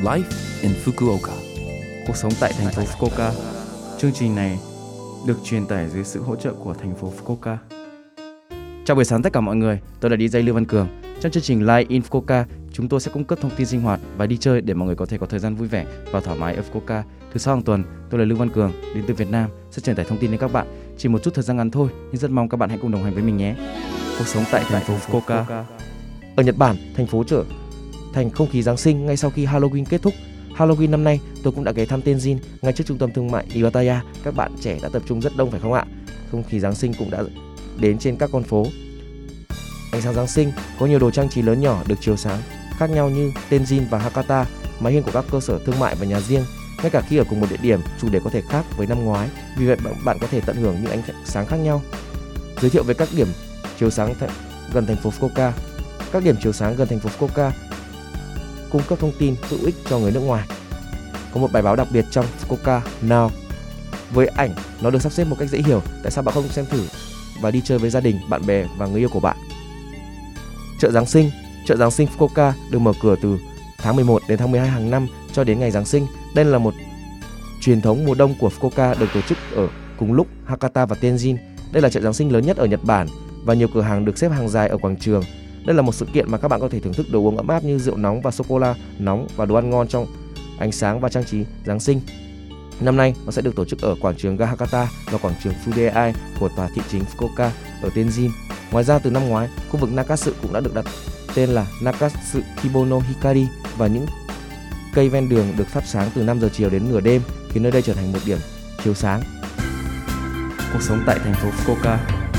Life in Fukuoka. Cuộc sống tại thành phố Fukuoka. Chương trình này được truyền tải dưới sự hỗ trợ của thành phố Fukuoka. Chào buổi sáng tất cả mọi người, tôi là DJ Lưu Văn Cường. Trong chương trình Live in Fukuoka, chúng tôi sẽ cung cấp thông tin sinh hoạt và đi chơi để mọi người có thể có thời gian vui vẻ và thoải mái ở Fukuoka. Thứ sáu hàng tuần, tôi là Lưu Văn Cường, đến từ Việt Nam, sẽ truyền tải thông tin đến các bạn. Chỉ một chút thời gian ngắn thôi, nhưng rất mong các bạn hãy cùng đồng hành với mình nhé. Cuộc sống tại thành phố Fukuoka. Ở Nhật Bản, thành phố trở thành không khí Giáng sinh ngay sau khi Halloween kết thúc. Halloween năm nay, tôi cũng đã ghé thăm Tenjin ngay trước trung tâm thương mại Iwataya. Các bạn trẻ đã tập trung rất đông phải không ạ? Không khí Giáng sinh cũng đã đến trên các con phố. Ánh sáng Giáng sinh có nhiều đồ trang trí lớn nhỏ được chiếu sáng khác nhau như Tenjin và Hakata, mái hiên của các cơ sở thương mại và nhà riêng. Ngay cả khi ở cùng một địa điểm, chủ đề có thể khác với năm ngoái, vì vậy bạn có thể tận hưởng những ánh sáng khác nhau. Giới thiệu về các điểm chiếu sáng gần thành phố Fukuoka. Các điểm chiếu sáng gần thành phố Fukuoka cung cấp thông tin hữu ích cho người nước ngoài. Có một bài báo đặc biệt trong Fukuoka Now. Với ảnh, nó được sắp xếp một cách dễ hiểu. Tại sao bạn không xem thử và đi chơi với gia đình, bạn bè và người yêu của bạn? Chợ Giáng sinh. Chợ Giáng sinh Fukuoka được mở cửa từ tháng 11 đến tháng 12 hàng năm cho đến ngày Giáng sinh. Đây là một truyền thống mùa đông của Fukuoka được tổ chức ở cùng lúc Hakata và Tenjin. Đây là chợ Giáng sinh lớn nhất ở Nhật Bản và nhiều cửa hàng được xếp hàng dài ở quảng trường. Đây là một sự kiện mà các bạn có thể thưởng thức đồ uống ấm áp như rượu nóng và sô-cô-la nóng và đồ ăn ngon trong ánh sáng và trang trí Giáng sinh. Năm nay, nó sẽ được tổ chức ở quảng trường ga Hakata và quảng trường Fudeai của tòa thị chính Fukuoka ở Tenjin. Ngoài ra, từ năm ngoái, khu vực Nakatsu cũng đã được đặt tên là Nakatsu Kibono Hikari và những cây ven đường được thắp sáng từ 5 giờ chiều đến nửa đêm, khiến nơi đây trở thành một điểm chiếu sáng. Cuộc sống tại thành phố Fukuoka.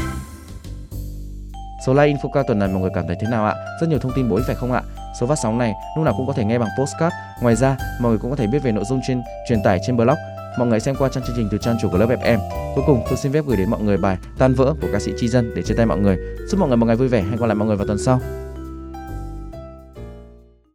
Số Live in Fukuoka tuần này mọi người cảm thấy thế nào ạ? Rất nhiều thông tin bổ ích phải không ạ? Số phát sóng này lúc nào cũng có thể nghe bằng podcast. Ngoài ra, mọi người cũng có thể biết về nội dung truyền tải trên blog. Mọi người xem qua trang chương trình từ trang chủ của lớp FM. Cuối cùng, tôi xin phép gửi đến mọi người bài Tan vỡ của ca sĩ Chi Dân để chia tay mọi người. Chúc mọi người một ngày vui vẻ. Hẹn gặp lại mọi người vào tuần sau.